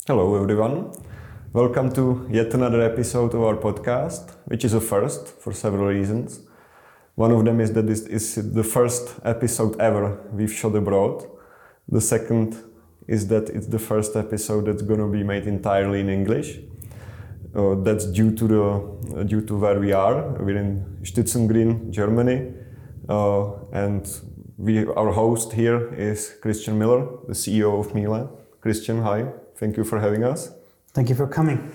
Hello everyone. Welcome to yet another episode of our podcast, which is a first for several reasons. One of them is that this is the first episode ever we've shot abroad. The second is that it's the first episode that's going to be made entirely in English. That's due to where we are. We're in Stützengrün, Germany, and our host here is Christian Miller, the CEO of Miele. Christian, hi. Thank you for having us. Thank you for coming.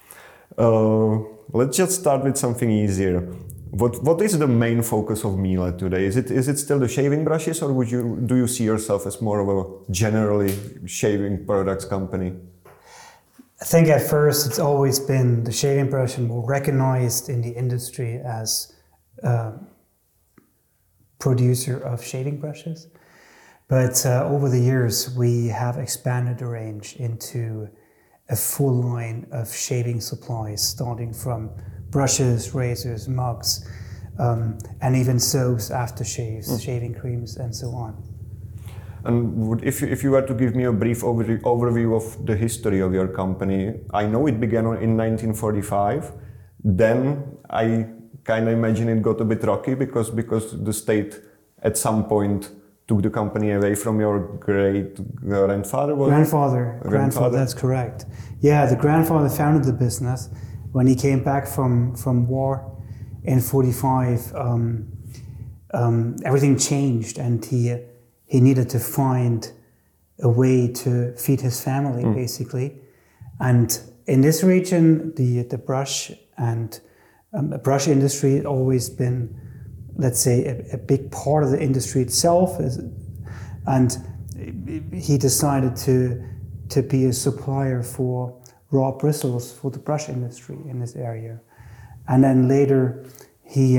Let's just start with something easier. What is the main focus of Miele today? Is it still the shaving brushes, or do you see yourself as more of a generally shaving products company? I think at first it's always been the shaving brush and more recognized in the industry as a producer of shaving brushes. But over the years, we have expanded the range into a full line of shaving supplies, starting from brushes, razors, mugs, and even soaps, aftershaves, shaving creams, and so on. And if you were to give me a brief overview of the history of your company, I know it began in 1945. Then I kind of imagine it got a bit rocky because the state at some point took the company away from your great-grandfather? Grandfather, that's correct. Yeah, the grandfather founded the business. When he came back from war in 45, everything changed, and he needed to find a way to feed his family, basically. And in this region, the brush and brush industry had always been, let's say, a big part of the industry itself, and he decided to be a supplier for raw bristles for the brush industry in this area. And then later he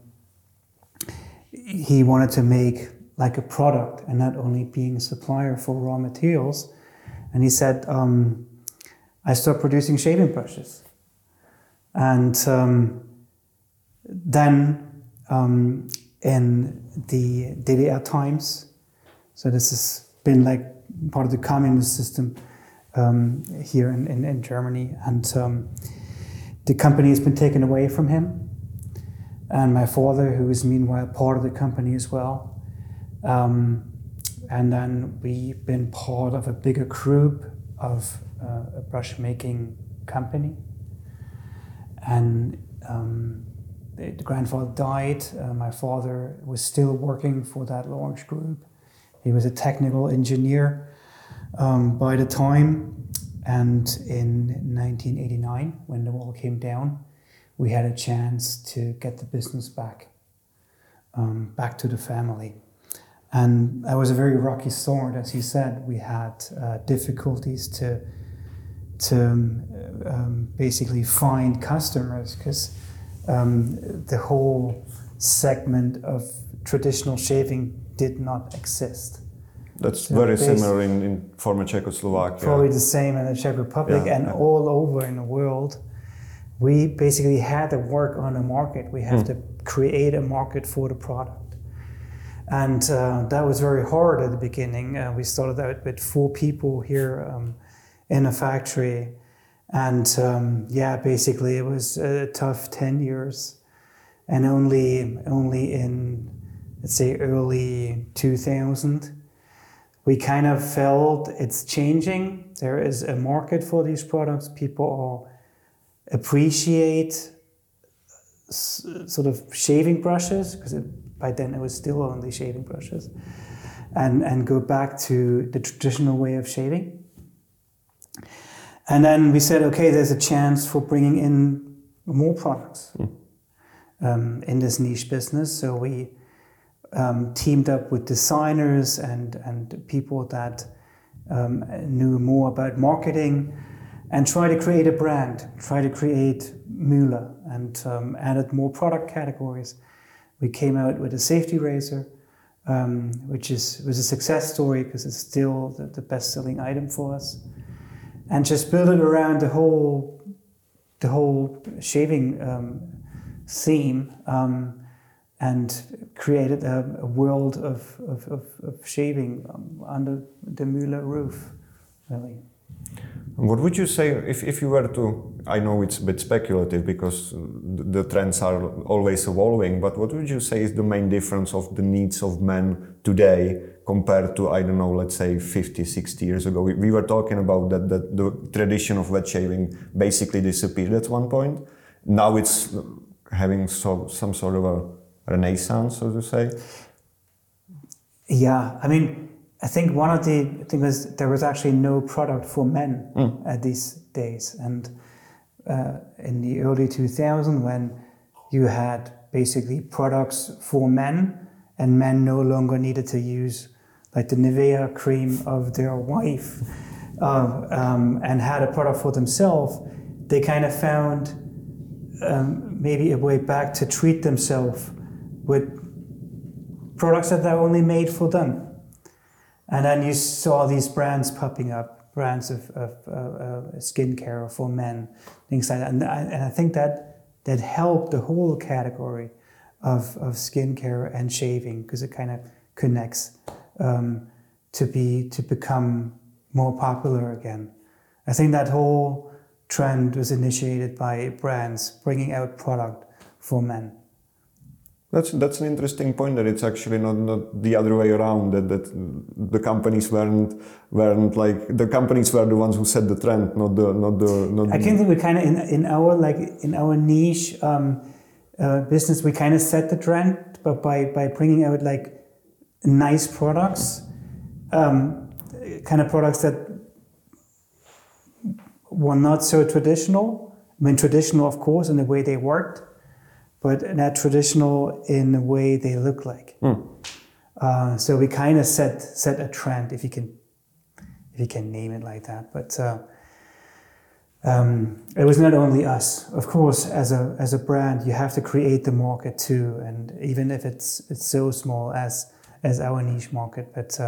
wanted to make like a product and not only being a supplier for raw materials. And he said, I stopped producing shaving brushes. And then in the DDR times, so this has been like part of the communist system here in Germany, and the company has been taken away from him, and my father, who is meanwhile part of the company as well, and then we've been part of a bigger group of a brush making company, and the grandfather died. My father was still working for that large group. He was a technical engineer by the time, and in 1989, when the wall came down, we had a chance to get the business back to the family. And that was a very rocky start, as you said. We had difficulties to basically find customers, because the whole segment of traditional shaving did not exist. That's very similar in former Czechoslovakia. Probably the same in the Czech Republic all over in the world. We basically had to work on a market. We have to create a market for the product. And that was very hard at the beginning. We started out with 4 people here in a factory. And basically it was a tough 10 years. And only in, let's say, early 2000, we kind of felt it's changing. There is a market for these products. People appreciate sort of shaving brushes, because by then it was still only shaving brushes, and go back to the traditional way of shaving. And then we said, okay, there's a chance for bringing in more products in this niche business. So we teamed up with designers and people that knew more about marketing, and try to create a brand, try to create Miele, and added more product categories. We came out with a safety razor, which was a success story because it's still the best-selling item for us, and just build it around the whole shaving theme, and created a world of shaving under the Miele roof, really. What would you say if you were to, I know it's a bit speculative because the trends are always evolving, but what would you say is the main difference of the needs of men today compared to, I don't know, let's say 50, 60 years ago? We were talking about that the tradition of wet shaving basically disappeared at one point. Now it's having some sort of a renaissance, so to say. Yeah, I mean, I think one of the things was there was actually no product for men at these days. And in the early 2000s, when you had basically products for men and men no longer needed to use like the Nivea cream of their wife and had a product for themselves, they kind of found maybe a way back to treat themselves with products that are only made for them. And then you saw these brands popping up, brands of skincare for men, things like that. And I think that helped the whole category of skincare and shaving, because it kind of connects to become more popular again. I think that whole trend was initiated by brands bringing out product for men. That's an interesting point, that it's actually not the other way around, that the companies weren't like, the companies were the ones who set the trend, not the I can think we kind of in our niche business, we kind of set the trend, but by bringing out like nice products, kind of products that were not so traditional. I mean, traditional, of course, in the way they worked, but not traditional in the way they look like. So we kind of set a trend, if you can name it like that. But it was not only us. Of course, as a brand, you have to create the market too, and even if it's so small as our niche market, but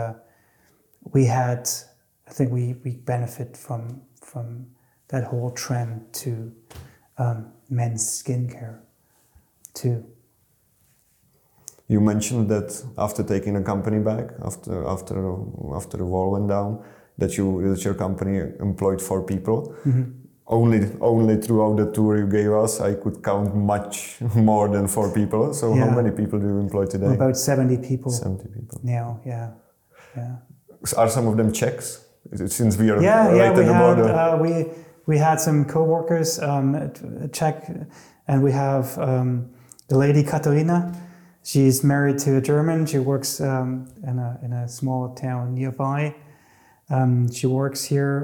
I think we benefit from that whole trend to men's skincare too. You mentioned that after taking a company back, after the wall went down, that your company employed 4 people. Mm-hmm. Only throughout the tour you gave us, I could count much more than 4 people. So yeah. How many people do you employ today? About 70 people. 70 people. Now, yeah. Are some of them Czechs? Since we are right at the border. We had some co-workers, Czech, and we have the lady Katarina. She's married to a German. She works in a small town nearby. She works here,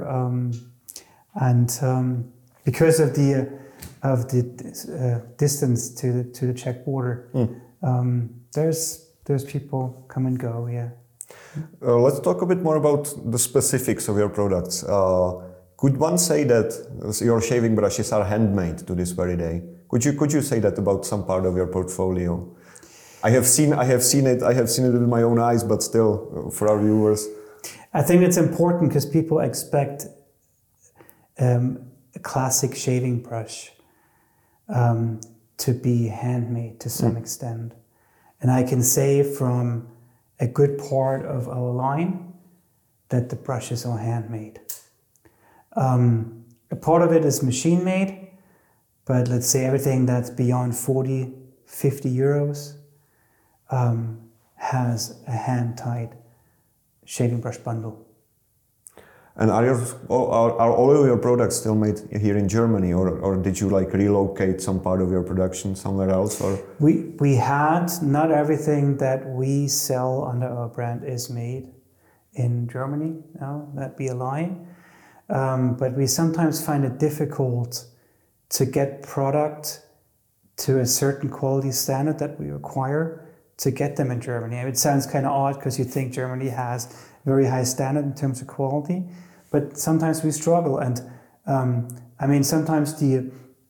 and because of the distance to the Czech border, there's people come and go. Yeah. Let's talk a bit more about the specifics of your products. Could one say that your shaving brushes are handmade to this very day? Could you say that about some part of your portfolio? I have seen it with my own eyes, but still, for our viewers. I think it's important because people expect a classic shaving brush to be handmade to some extent. And I can say from a good part of our line that the brushes are handmade. A part of it is machine made, but let's say everything that's beyond 40, 50 euros has a hand-tied shaving brush bundle. And are all of your products still made here in Germany, or did you like relocate some part of your production somewhere else? Or we had, not everything that we sell under our brand is made in Germany. No, that'd be a lie. But we sometimes find it difficult to get product to a certain quality standard that we require to get them in Germany. It sounds kind of odd because you think Germany has a very high standard in terms of quality, but sometimes we struggle. And I mean, sometimes the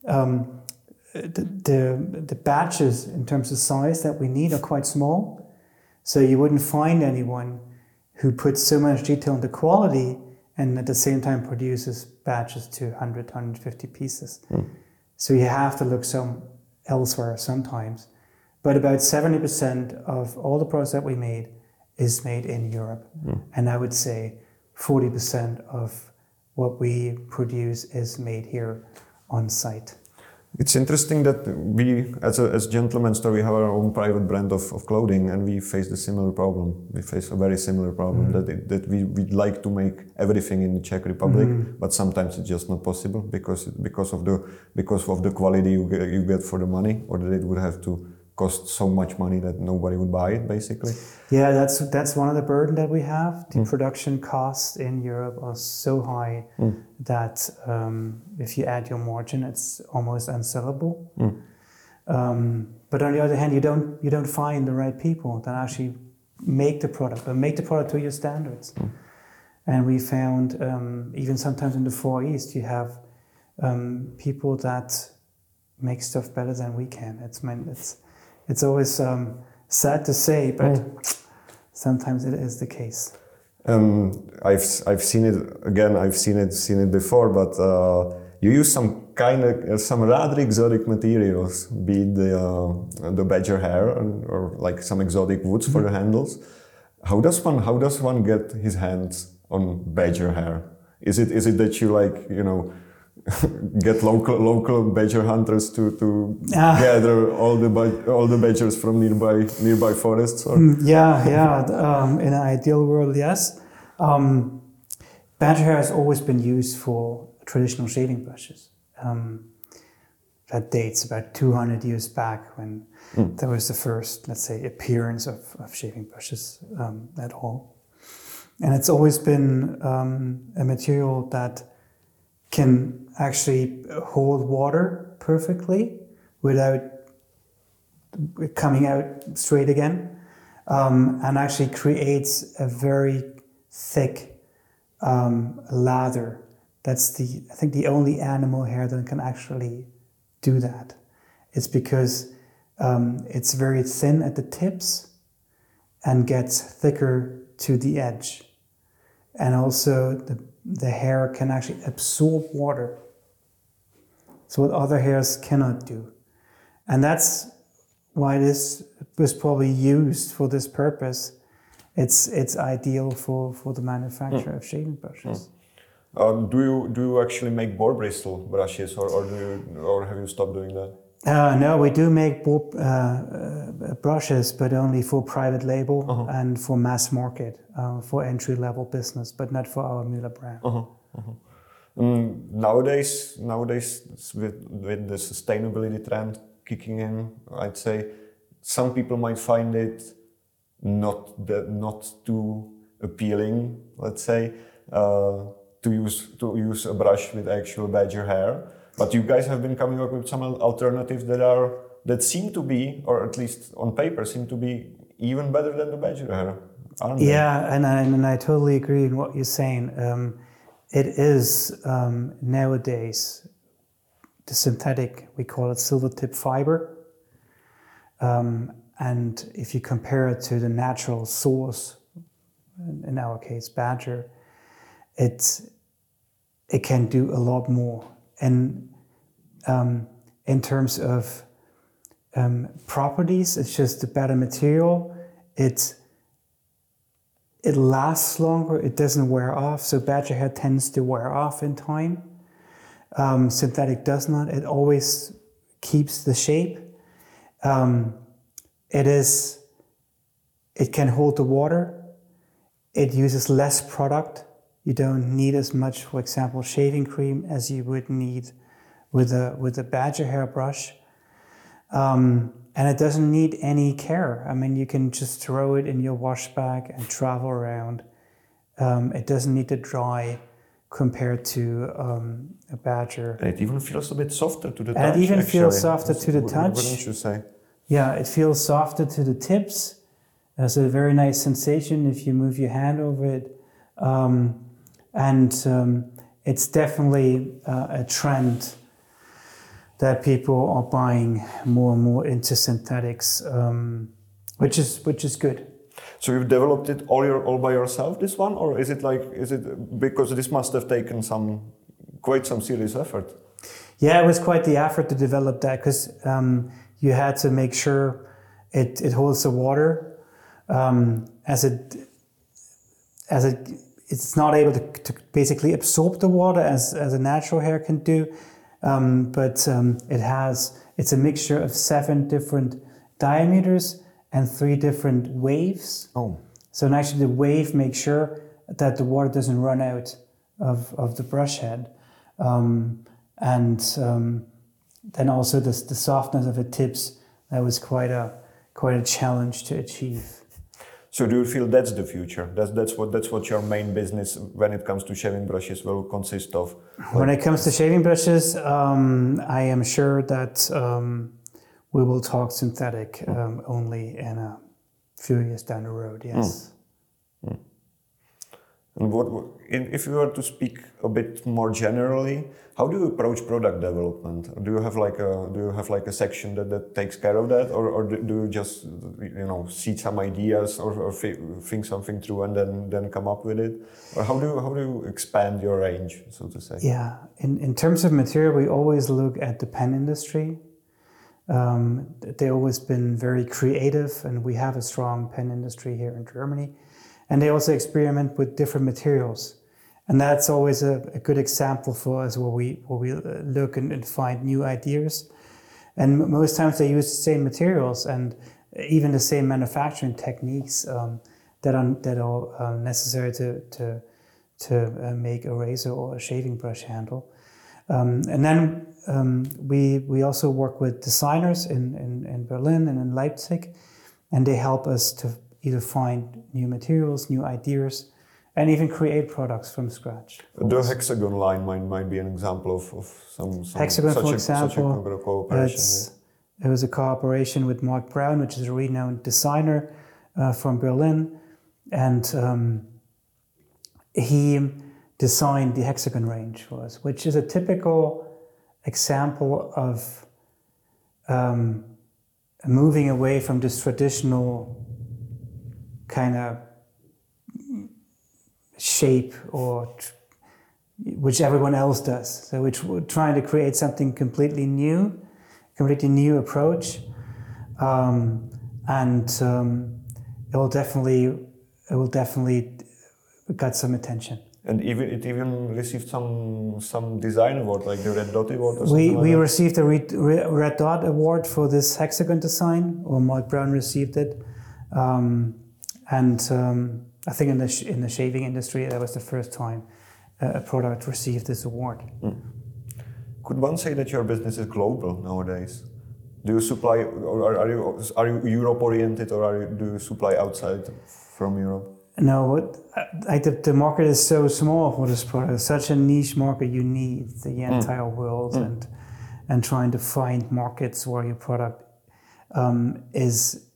batches in terms of size that we need are quite small. So you wouldn't find anyone who puts so much detail into quality and at the same time produces batches to 100, 150 pieces. So you have to look elsewhere sometimes. But about 70% of all the products that we made is made in Europe. And I would say 40% of what we produce is made here on site. It's interesting that we, as Gentleman Store, we have our own private brand of clothing, and we face the similar problem. We face a very similar problem that we'd like to make everything in the Czech Republic, but sometimes it's just not possible because of the quality you get for the money, or that it would have to cost so much money that nobody would buy it, basically. Yeah, that's one of the burden that we have. The production costs in Europe are so high that if you add your margin, it's almost unsellable. But on the other hand, you don't find the right people that actually make the product, but make the product to your standards. And we found even sometimes in the Far East, you have people that make stuff better than we can. It's always sad to say, but sometimes it is the case. I've seen it again. I've seen it before, but you use some rather exotic materials, be it the badger hair or like some exotic woods for the handles. How does one get his hands on badger hair? Is it that you get local badger hunters to gather all the badgers from nearby forests? Or? In an ideal world, yes. Badger hair has always been used for traditional shaving brushes. That dates about 200 years back when there was the first, let's say, appearance of shaving brushes at all. And it's always been a material that can actually hold water perfectly without coming out straight again, and actually creates a very thick lather. That's I think the only animal hair that can actually do that. It's because it's very thin at the tips and gets thicker to the edge. And also the hair can actually absorb water. So what other hairs cannot do. And that's why this was probably used for this purpose. It's ideal for the manufacture of shaving brushes. Do you actually make boar bristle brushes, or have you stopped doing that? No, we do make boar brushes, but only for private label and for mass market, for entry-level business, but not for our Müller brand. Nowadays, with the sustainability trend kicking in, I'd say some people might find it not too appealing, let's say, to use a brush with actual badger hair. But you guys have been coming up with some alternatives that seem to be, or at least on paper, seem to be even better than the badger hair, aren't they? Yeah, and I totally agree with what you're saying. It is nowadays the synthetic, we call it silver tip fiber. And if you compare it to the natural source, in our case, badger, it can do a lot more. And in terms of properties, it's just a better material. It lasts longer, it doesn't wear off, so badger hair tends to wear off in time. Synthetic does not, it always keeps the shape. It can hold the water, it uses less product. You don't need as much, for example, shaving cream as you would need with a badger hair brush. And it doesn't need any care. I mean, you can just throw it in your wash bag and travel around. It doesn't need to dry compared to a badger. And it even feels a bit softer to the touch. And it even feels softer to the touch. Wouldn't you say? Yeah, it feels softer to the tips. There's a very nice sensation if you move your hand over it. It's definitely a trend that people are buying more and more into synthetics, which is good. So you've developed it all by yourself, this one, or is it because this must have taken quite some serious effort? Yeah, it was quite the effort to develop that because you had to make sure it holds the water as it it's not able to basically absorb the water as a natural hair can do, but it's a mixture of 7 different diameters and 3 different waves. Oh. So actually the wave makes sure that the water doesn't run out of the brush head. Then also the softness of the tips, that was quite a challenge to achieve. So do you feel that's the future? That's what your main business when it comes to shaving brushes will consist of? When it comes to shaving brushes, I am sure that we will talk synthetic only in a few years down the road. Yes. And if you were to speak a bit more generally, how do you approach product development? Do you have like a section that takes care of that, or do you just see some ideas or think something through and then come up with it, or how do you expand your range, so to say? Yeah, in terms of material, we always look at the pen industry. They've always been very creative, and we have a strong pen industry here in Germany. And they also experiment with different materials. And that's always a good example for us where we look and find new ideas. And most times they use the same materials and even the same manufacturing techniques that are necessary to make a razor or a shaving brush handle. And then we also work with designers in Berlin and in Leipzig, and they help us to either find new materials, new ideas, and even create products from scratch. The Hexagon line might be an example of some Hexagon, such for a example, cooperation. It was a cooperation with Mark Brown, which is a renowned designer from Berlin, and he designed the Hexagon range for us, which is a typical example of moving away from this traditional kind of shape which everyone else does. So we're trying to create something completely new approach, and it will definitely got some attention. And it even received some design award, like the Red Dot Award or something We received a Red Dot Award for this Hexagon design, or Mark Brown received it. I think in the shaving industry, that was the first time a product received this award. Could one say that your business is global nowadays? Do you supply, or are you Europe oriented, or do you supply outside from Europe? No, the market is so small for this product. It's such a niche market. You need the entire world, and trying to find markets where your product is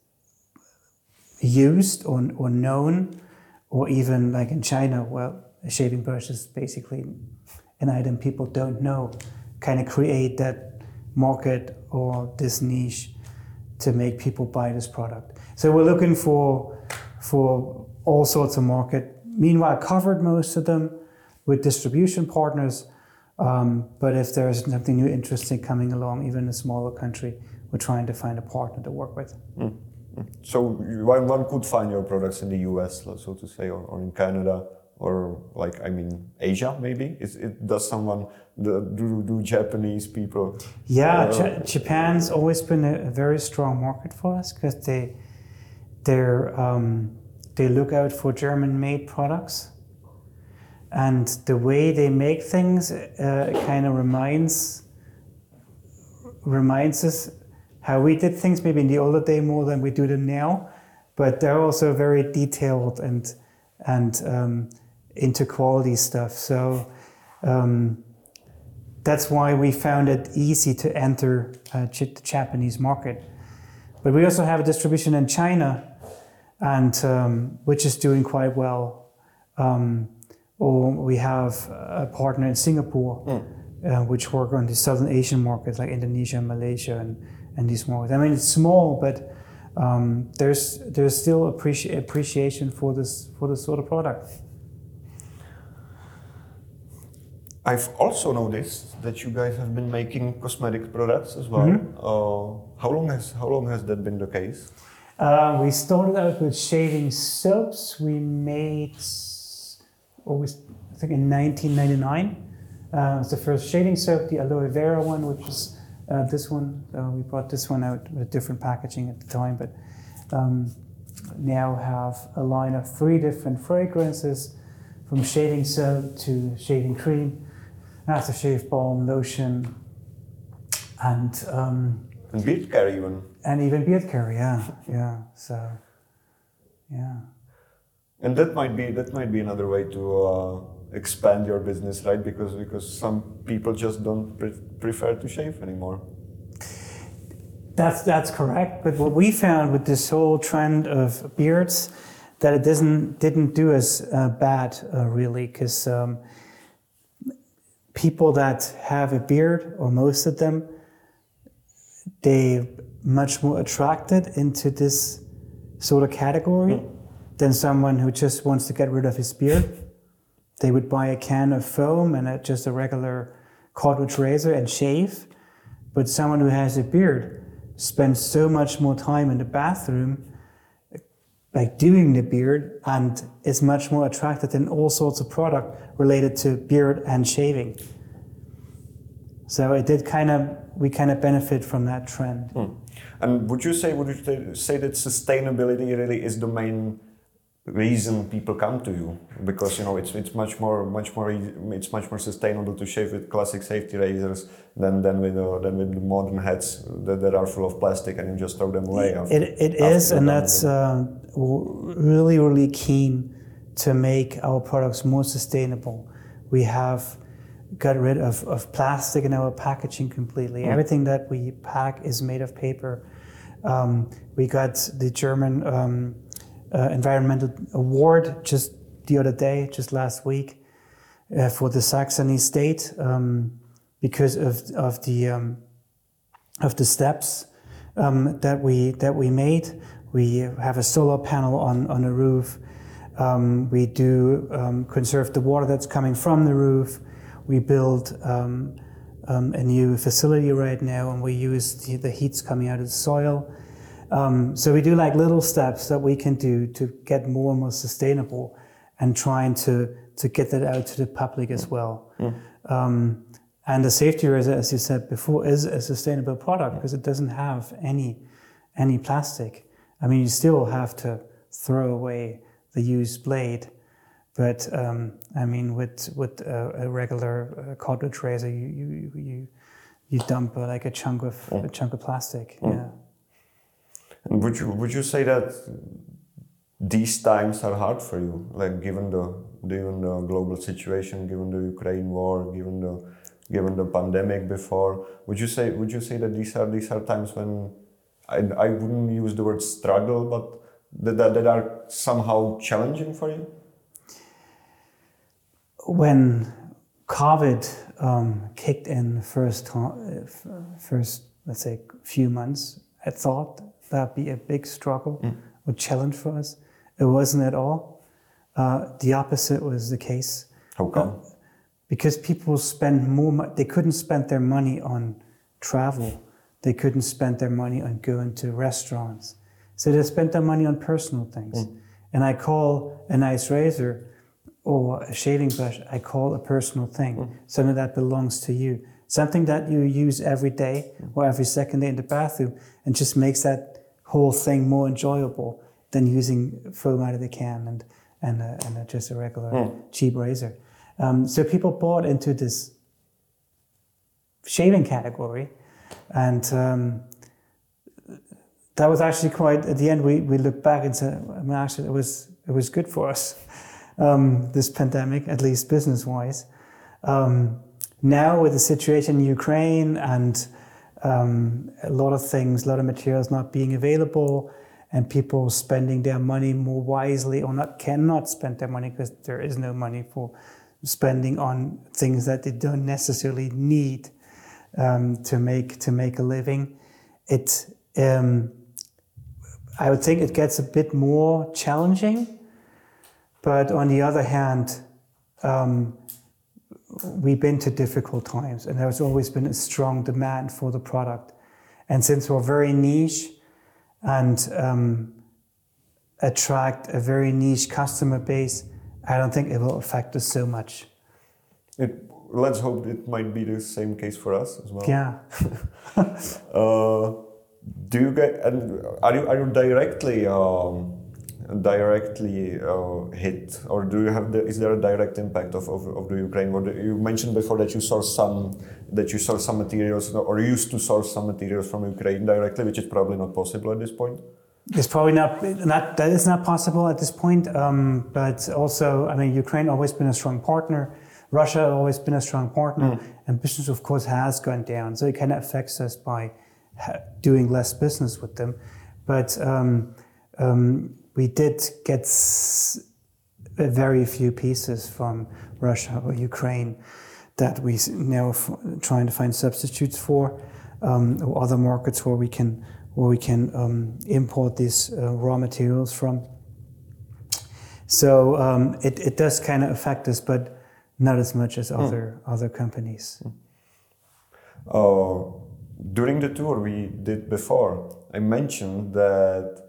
used or known, or even like in China, well, a shaving brush is basically an item people don't know. Kind of create that market or this niche to make people buy this product. So we're looking for all sorts of market. Meanwhile, covered most of them with distribution partners. But if there's something new, interesting coming along, even in a smaller country, we're trying to find a partner to work with. So one could find your products in the US, so to say, or in Canada, or Asia maybe? Do Japanese people? Yeah, Japan's always been a very strong market for us, because they look out for German-made products, and the way they make things kind of reminds us how we did things maybe in the older day more than we do them now, but they're also very detailed and into quality stuff. So that's why we found it easy to enter the Japanese market. But we also have a distribution in China, and which is doing quite well. Or we have a partner in Singapore, which work on the Southern Asian markets like Indonesia, Malaysia, and these markets. I mean, it's small, but there's still appreciation for this sort of product. I've also noticed that you guys have been making cosmetic products as well. How long has that been the case? We started out with shaving soaps. We made I think in 1999. It was the first shaving soap, the aloe vera one, which is this one. We brought this one out with different packaging at the time, but now have a line of 3 different fragrances, from shaving soap to shaving cream, aftershave balm, lotion, and beard care even. And even beard care, yeah. So, yeah. And that might be another way to expand your business, right? Because some people just don't prefer to shave anymore. That's correct. But what we found with this whole trend of beards, that it didn't do as bad really, because people that have a beard, or most of them, they much more attracted into this sort of category than someone who just wants to get rid of his beard. They would buy a can of foam and just a regular cartridge razor and shave. But someone who has a beard spends so much more time in the bathroom like doing the beard, and is much more attracted in all sorts of product related to beard and shaving. So we kind of benefit from that trend. And would you say that sustainability really is the main reason people come to you? Because it's much more sustainable to shave with classic safety razors than with the modern heads that are full of plastic and you just throw them away. It is, and that's really keen to make our products more sustainable. We have got rid of plastic in our packaging completely. Everything that we pack is made of paper. We got the German environmental award just the other day, just last week, for the Saxony state, because of the steps that we made. We have a solar panel on the roof. We do conserve the water that's coming from the roof. We build a new facility right now, and we use the heat's coming out of the soil. So we do like little steps that we can do to get more and more sustainable, and trying to get that out to the public as well. And the safety razor, as you said before, is a sustainable product because it doesn't have any plastic. I mean, you still have to throw away the used blade, but I mean, with a regular cartridge razor, you dump like a chunk of plastic. Yeah. And would you say that these times are hard for you, like given the global situation, given the Ukraine war, given the pandemic before? Would you say that these are times when I wouldn't use the word struggle, but that are somehow challenging for you? When COVID kicked in first, let's say, few months, I thought that'd be a big struggle or challenge for us. It wasn't at all. The opposite was the case. How come? Because people spend more. They couldn't spend their money on travel. They couldn't spend their money on going to restaurants. So they spent their money on personal things. And I call a nice razor or a shaving brush, I call a personal thing. Something that belongs to you. Something that you use every day or every second day in the bathroom, and just makes that whole thing more enjoyable than using foam out of the can and just a regular cheap razor. So people bought into this shaving category, and that was actually quite, at the end we looked back and said, I mean, actually it was good for us, this pandemic, at least business-wise. Now with the situation in Ukraine and a lot of materials not being available, and people spending their money more wisely, or cannot spend their money because there is no money for spending on things that they don't necessarily need to make a living. I would think it gets a bit more challenging, but on the other hand, we've been to difficult times, and there's always been a strong demand for the product. And since we're very niche and attract a very niche customer base, I don't think it will affect us so much. Let's hope it might be the same case for us as well. Yeah. Do you get? And are you directly hit, or do you have? Is there a direct impact of the Ukraine? Or you mentioned before that you source some materials, or used to source some materials from Ukraine directly, which is probably not possible at this point. It's probably not that is not possible at this point. But also, I mean, Ukraine always been a strong partner. Russia always been a strong partner, and business, of course, has gone down. So it kind of affects us by doing less business with them. But we did get very few pieces from Russia or Ukraine that we now trying to find substitutes for, or other markets where we can import these raw materials from. So it does kind of affect us, but not as much as other companies. During the tour we did before, I mentioned that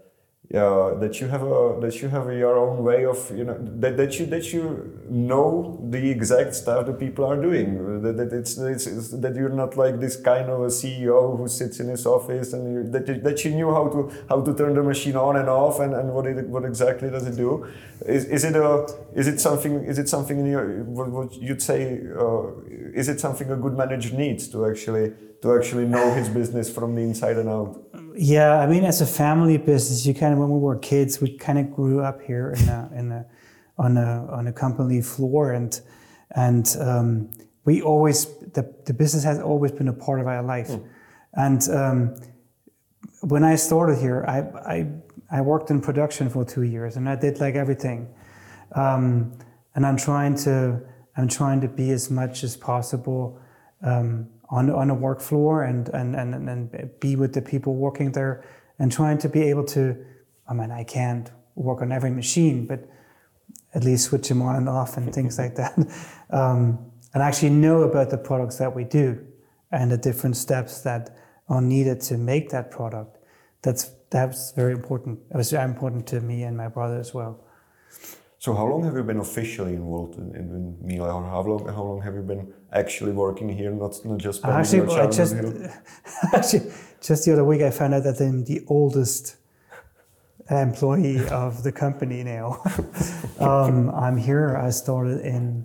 you have your own way of that you know the exact stuff that people are doing. That you're not like this kind of a CEO who sits in his office and that you knew how to turn the machine on and off and what exactly does it do? Is it something in your what you'd say? Is it something a good manager needs to actually know his business from the inside and out? Yeah, I mean, as a family business, when we were kids, we kind of grew up here on a company floor, and we always the business has always been a part of our life. And when I started here, I worked in production for 2 years, and I did like everything. And I'm trying to be as much as possible on a work floor and be with the people working there, and trying to be able to, I mean, I can't work on every machine, but at least switch them on and off and things like that. And actually know about the products that we do and the different steps that are needed to make that product. That's very important. It was very important to me and my brother as well. So how long have you been officially involved in Miele, or how long have you been actually working here, not just spending your childhood here? Actually, just the other week I found out that I'm the oldest employee of the company now. I'm here. I started in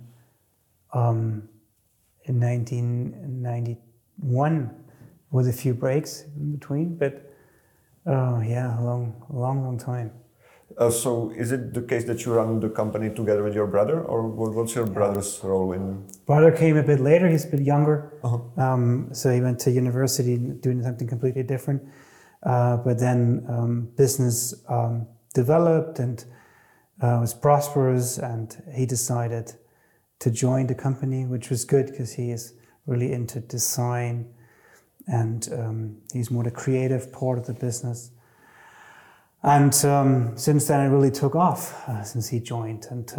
1991 with a few breaks in between, but yeah, a long time. So is it the case that you run the company together with your brother, or what's your brother's role in? Brother came a bit later. He's a bit younger. So he went to university doing something completely different. But then business developed and was prosperous, and he decided to join the company, which was good because he is really into design, and he's more the creative part of the business. And since then, it really took off since he joined, and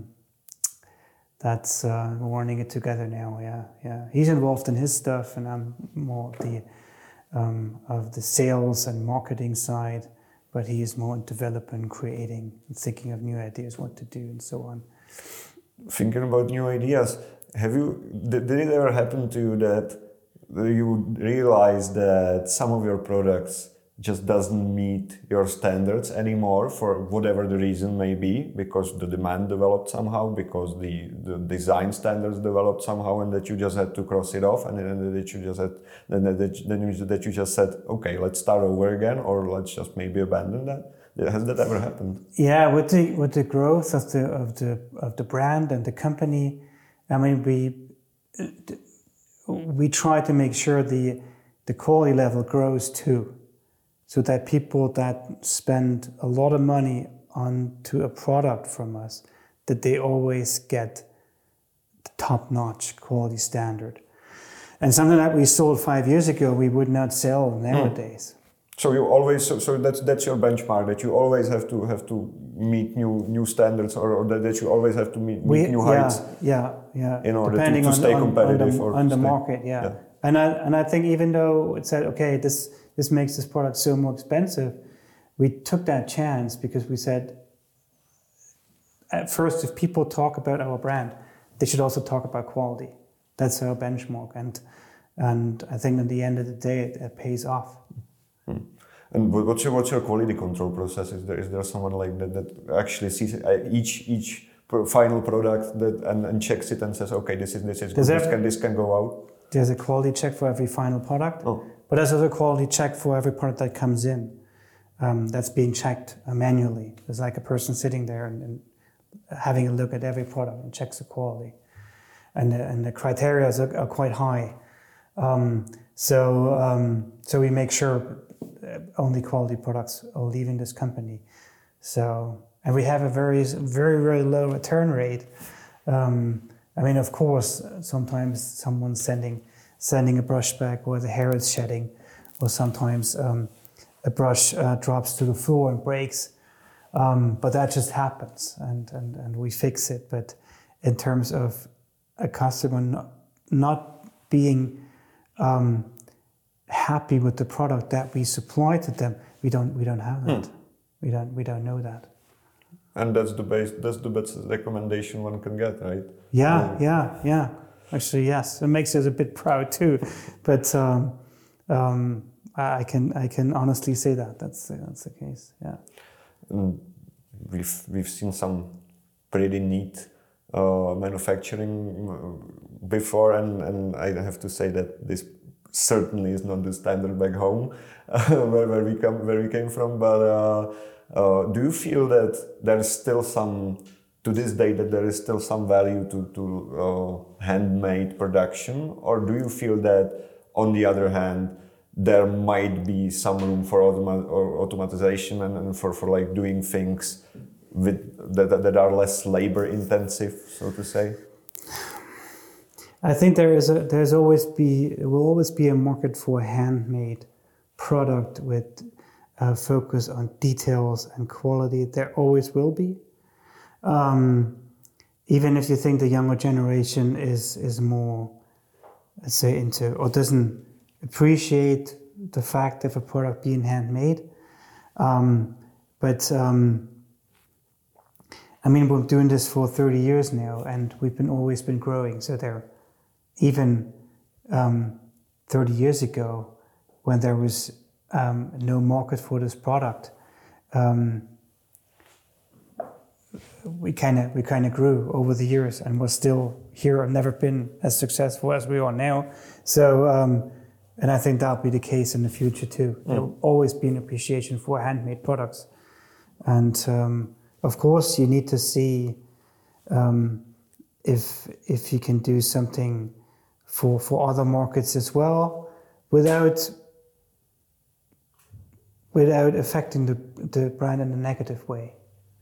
that's we're running it together now. Yeah. He's involved in his stuff, and I'm more of the sales and marketing side, but he is more developing, creating, thinking of new ideas, what to do, and so on. Thinking about new ideas, did it ever happen to you that you realize that some of your products just doesn't meet your standards anymore for whatever the reason may be, because the demand developed somehow, because the design standards developed somehow, and that you just had to cross it off, and that you just said, okay, let's start over again, or let's just maybe abandon that? Has that ever happened? Yeah, with the growth of the brand and the company, I mean, we try to make sure the quality level grows too, so that people that spend a lot of money onto a product from us, that they always get the top-notch quality standard. And something that we sold 5 years ago, we would not sell nowadays. So you always so that's your benchmark, that you always have to meet new standards, or that you always have to meet new heights. Yeah. In order to stay competitive on the market. Yeah. And I think even though it said, okay, this makes this product so more expensive, we took that chance because we said, at first, if people talk about our brand, they should also talk about quality. That's our benchmark, and I think at the end of the day, it pays off. And what's your quality control process? Is there someone like that actually sees each final product and checks it and says, okay, this is good, this can go out? There's a quality check for every final product, but there's also a quality check for every product that comes in. That's being checked manually. There's like a person sitting there and having a look at every product and checks the quality. And the criteria are quite high. So we make sure only quality products are leaving this company. And we have a very, very, very low return rate. I mean, of course, sometimes someone's sending a brush back where the hair is shedding, or sometimes a brush drops to the floor and breaks. But that just happens, and we fix it. But in terms of a customer not being happy with the product that we supply to them, we don't have that. We don't know that. And that's the best recommendation one can get, right? Yeah. Actually, yes, it makes us a bit proud too. But I can honestly say that that's the case. Yeah. We've seen some pretty neat manufacturing before, and I have to say that this certainly is not the standard back home where we came from. But do you feel that there is still to this day, that there is still some value to handmade production, or do you feel that, on the other hand, there might be some room for automatization and for like doing things that are less labor intensive, so to say? I think there will always be a market for a handmade product with focus on details and quality. There always will be. Even if you think the younger generation is more, let's say, into or doesn't appreciate the fact of a product being handmade. But I mean, we're doing this for 30 years now, and we've always been growing. So there, even 30 years ago, when there was no market for this product, we kind of grew over the years, and we're still here and never been as successful as we are now. So, and I think that'll be the case in the future too. There will always be an appreciation for handmade products, and of course, you need to see if you can do something for other markets as well, without affecting the brand in a negative way.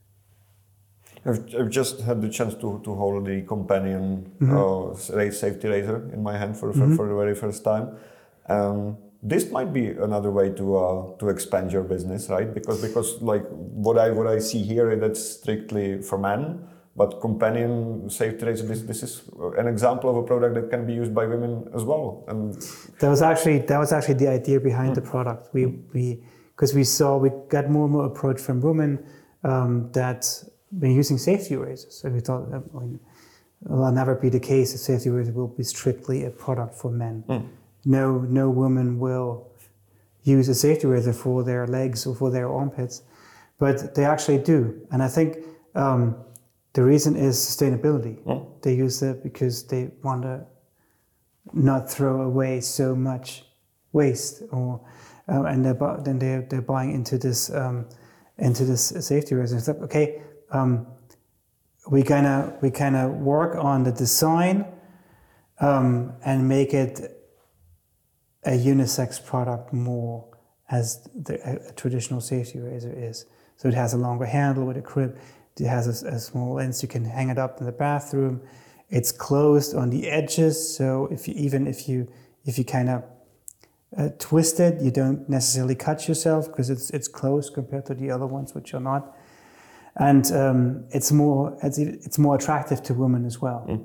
I've just had the chance to hold the Companion safety razor in my hand for the very first time. This might be another way to expand your business, right? Because like what I see here, that's strictly for men. But Companion safety razor, this is an example of a product that can be used by women as well. And that was actually the idea behind the product. Because we got more and more approach from women that been using safety razors. So we thought that will never be the case. A safety razor will be strictly a product for men. No woman will use a safety razor for their legs or for their armpits, but they actually do. And I think the reason is sustainability. They use it because they want to not throw away so much waste, and they're buying into this safety razor. It's like, okay, we kind of work on the design and make it a unisex product more as a traditional safety razor is. So it has a longer handle with a crib. It has a small lens. You can hang it up in the bathroom. It's closed on the edges, so if you kind of twist it, you don't necessarily cut yourself because it's closed compared to the other ones, which are not. And it's more attractive to women as well.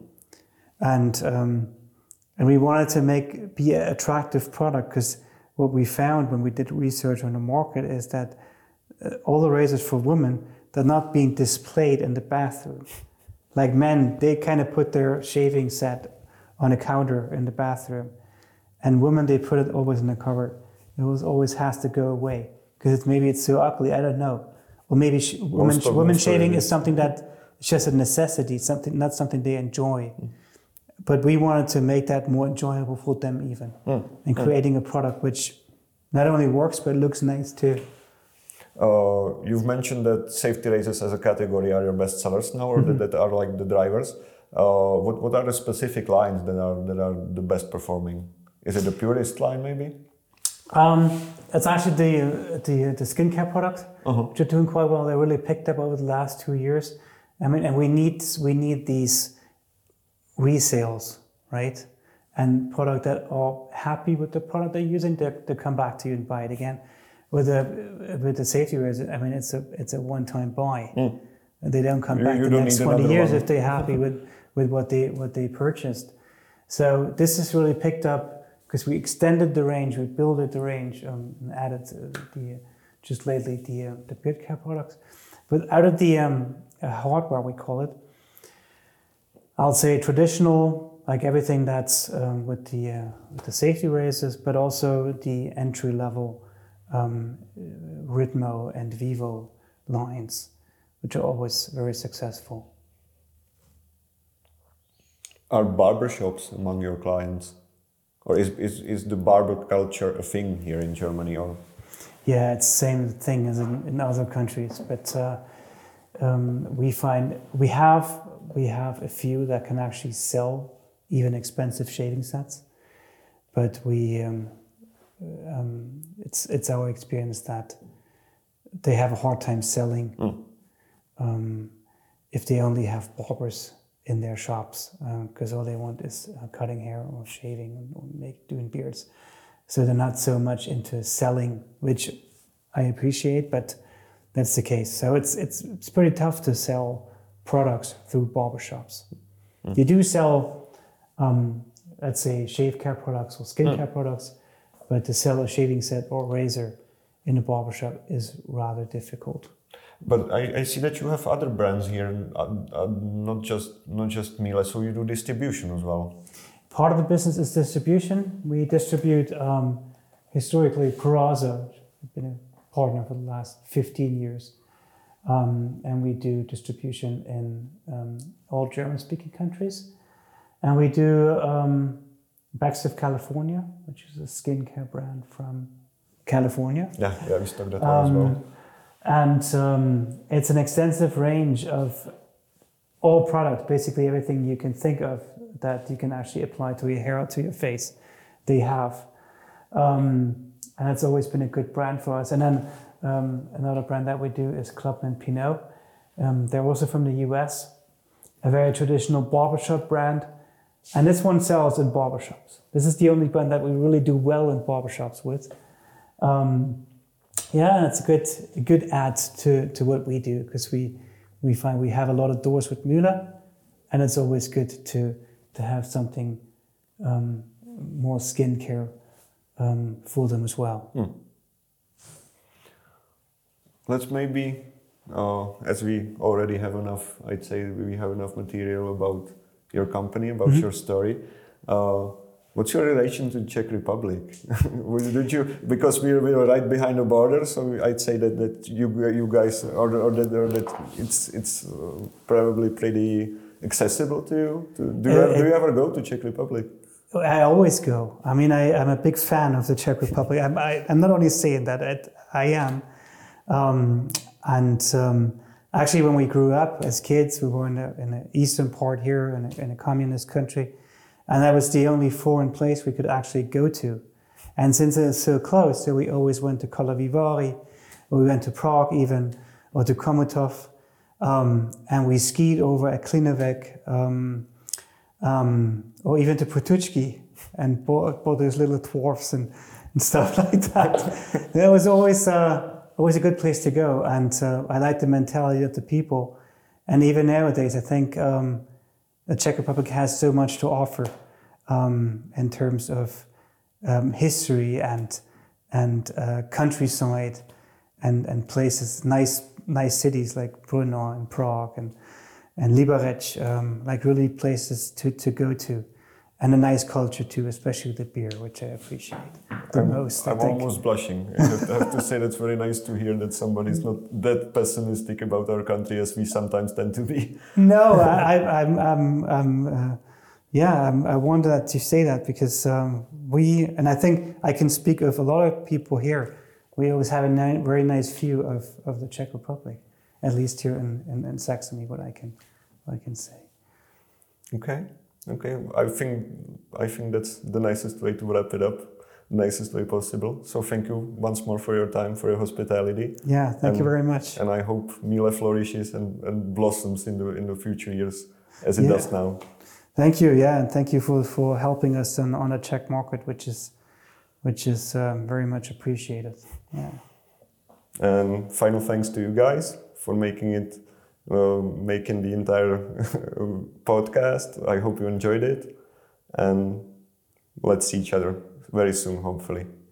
And we wanted to be an attractive product, because what we found when we did research on the market is that all the razors for women, they're not being displayed in the bathroom. Like men, they kind of put their shaving set on a counter in the bathroom. And women, they put it always in the cupboard. It always has to go away because maybe it's so ugly. I don't know. Or maybe women shaving is something that it's just a necessity, not something they enjoy. But we wanted to make that more enjoyable for them even, and creating a product which not only works but looks nice too. You've mentioned that safety razors as a category are your best sellers now, or that are like the drivers. What are the specific lines that are the best performing? Is it the Purist line maybe? It's actually the skincare products, which are doing quite well. They really picked up over the last 2 years. I mean, and we need these resales, right? And product that are happy with the product they're using, they come back to you and buy it again. With the safety razor, I mean, it's a one-time buy. They don't come back the next 20 years if they're happy with what they purchased. So this has really picked up because we extended the range, we built the range, and added just lately the beard care products. But out of the hardware, we call it, I'll say traditional, like everything that's with the safety razors, but also the entry level Ritmo and Vivo lines, which are always very successful. Are barbershops among your clients? Or is the barber culture a thing here in Germany? Or yeah, it's the same thing as in other countries. But we find we have a few that can actually sell even expensive shaving sets. But it's our experience that they have a hard time selling if they only have barbers in their shops, because all they want is cutting hair or shaving or doing beards. So they're not so much into selling, which I appreciate, but that's the case. So it's pretty tough to sell products through barbershops. You do sell, let's say, shave care products or skincare products, but to sell a shaving set or razor in a barbershop is rather difficult. But I see that you have other brands here, not just Miele, so you do distribution as well. Part of the business is distribution. We distribute historically Peraza. We've been a partner for the last 15 years. And we do distribution in all German-speaking countries. And we do Backs of California, which is a skincare brand from California. Yeah, we stock that one as well. And it's an extensive range of all products, basically everything you can think of that you can actually apply to your hair or to your face, they have. And it's always been a good brand for us. And then another brand that we do is Clubman Pinot. They're also from the US, a very traditional barbershop brand. And this one sells in barbershops. This is the only brand that we really do well in barbershops with. Yeah, it's a good add to what we do, because we find we have a lot of doors with Miele, and it's always good to have something more skincare for them as well. Let's maybe, as we already have enough, I'd say we have enough material about your company, about your story. What's your relation to Czech Republic? Did you, because we were right behind the border, so I'd say that you guys or that it's probably pretty accessible to you. Do you ever go to Czech Republic? I always go. I mean, I'm a big fan of the Czech Republic. I'm not only saying that, I am. Actually, when we grew up as kids, we were in the eastern part here, in a communist country. And that was the only foreign place we could actually go to. And since it's so close, so we always went to Karlovy Vary, or we went to Prague even, or to Chomutov, and we skied over at Klinovec, or even to Potučky, and bought those little dwarfs and stuff like that. That was always a good place to go, and I like the mentality of the people. And even nowadays, I think the Czech Republic has so much to offer in terms of history and countryside and places, nice nice cities like Brno and Prague and Liberec, like really places to go to. And a nice culture too, especially the beer, which I appreciate the most. I'm almost blushing. I have to say that's very nice to hear that somebody's not that pessimistic about our country as we sometimes tend to be. No, I wanted that to say that because and I think I can speak of a lot of people here. We always have a very nice view of the Czech Republic, at least here in Saxony. What I can say. Okay. I think that's the nicest way to wrap it up, nicest way possible. So thank you once more for your time, for your hospitality. Yeah, thank you very much. And I hope Mile flourishes and blossoms in the future years as it does now. Thank you, and thank you for helping us on the Czech market, which is very much appreciated. Yeah. And final thanks to you guys for making the entire podcast. I hope you enjoyed it, and let's see each other very soon, hopefully.